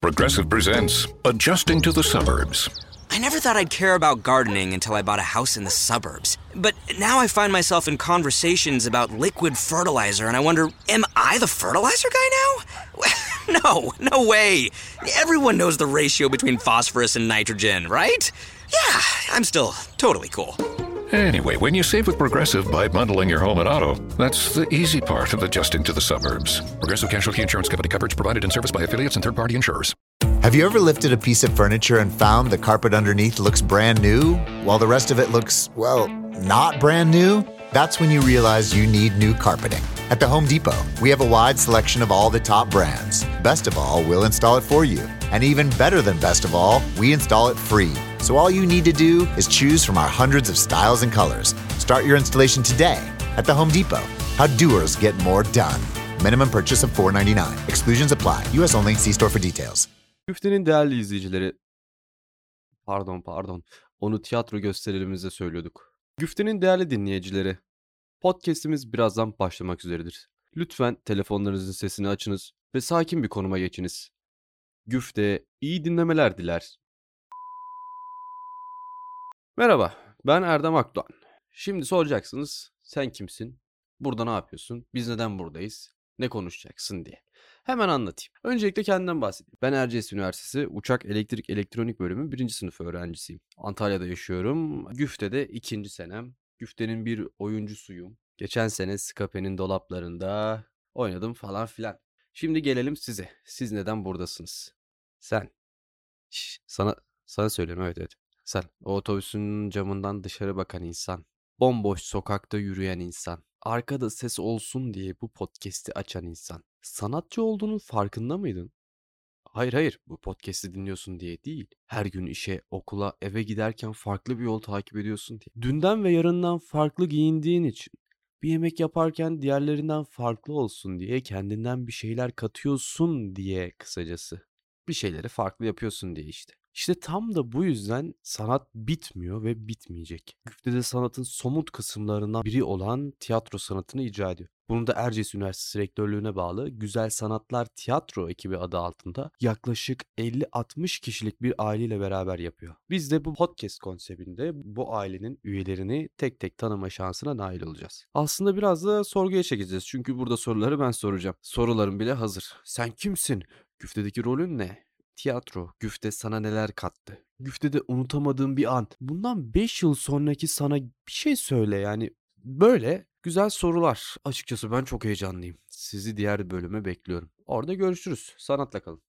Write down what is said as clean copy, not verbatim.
Progressive presents Adjusting to the Suburbs. I never thought I'd care about gardening until I bought a house in the suburbs. But now I find myself in conversations about liquid fertilizer, and I wonder, am I the fertilizer guy now? No way. Everyone knows the ratio between phosphorus and nitrogen, right? Yeah, I'm still totally cool. Anyway, when you save with Progressive by bundling your home and auto, that's the easy part of adjusting to the suburbs. Progressive Casualty Insurance Company coverage provided and serviced by affiliates and third-party insurers. Have you ever lifted a piece of furniture and found the carpet underneath looks brand new, while the rest of it looks, well, not brand new? That's when you realize you need new carpeting. At the Home Depot, we have a wide selection of all the top brands. Best of all, we'll install it for you. And even better than best of all, we install it free. So all you need to do is choose from our hundreds of styles and colors. Start your installation today at the Home Depot. How doers get more done. Minimum purchase of $4.99. Exclusions apply. U.S. only. See store for details. Güfte'nin değerli izleyicileri, onu tiyatro gösterilerimizde söylüyorduk. Güfte'nin değerli dinleyicileri, podcast'imiz birazdan başlamak üzeredir. Lütfen telefonlarınızın sesini açınız ve sakin bir konuma geçiniz. Güfte iyi dinlemeler diler. Merhaba, ben Erdem Akdoğan. Şimdi soracaksınız, sen kimsin? Burada ne yapıyorsun? Biz neden buradayız? Ne konuşacaksın diye. Hemen anlatayım. Öncelikle kendimden bahsedeyim. Ben Erciyes Üniversitesi Uçak Elektrik Elektronik Bölümü 1. sınıf öğrencisiyim. Antalya'da yaşıyorum. Güfte'de 2. senem. Güfte'nin bir oyuncusuyum. Geçen sene Skape'nin dolaplarında oynadım falan filan. Şimdi gelelim size. Siz neden buradasınız? Sen. Sana söylüyorum, evet. Sen. O otobüsün camından dışarı bakan insan. Bomboş sokakta yürüyen insan. Arkada ses olsun diye bu podcast'i açan insan. Sanatçı olduğunun farkında mıydın? Hayır, bu podcast'i dinliyorsun diye değil. Her gün işe, okula, eve giderken farklı bir yol takip ediyorsun diye. Dünden ve yarından farklı giyindiğin için. Bir yemek yaparken diğerlerinden farklı olsun diye kendinden bir şeyler katıyorsun diye kısacası. Bir şeyleri farklı yapıyorsun diye işte. İşte tam da bu yüzden sanat bitmiyor ve bitmeyecek. Güfte'de sanatın somut kısımlarından biri olan tiyatro sanatını icra ediyor. Bunu da Erciyes Üniversitesi Rektörlüğü'ne bağlı Güzel Sanatlar Tiyatro ekibi adı altında yaklaşık 50-60 kişilik bir aileyle beraber yapıyor. Biz de bu podcast konseptinde bu ailenin üyelerini tek tek tanıma şansına nail olacağız. Aslında biraz da sorguya çekeceğiz çünkü burada soruları ben soracağım. Sorularım bile hazır. Sen kimsin? Güfte'deki rolün ne? Tiyatro, Güfte sana neler kattı? Güfte'de unutamadığın bir an. Bundan 5 yıl sonraki sana bir şey söyle yani. Böyle güzel sorular. Açıkçası ben çok heyecanlıyım. Sizi diğer bölüme bekliyorum. Orada görüşürüz. Sanatla kalın.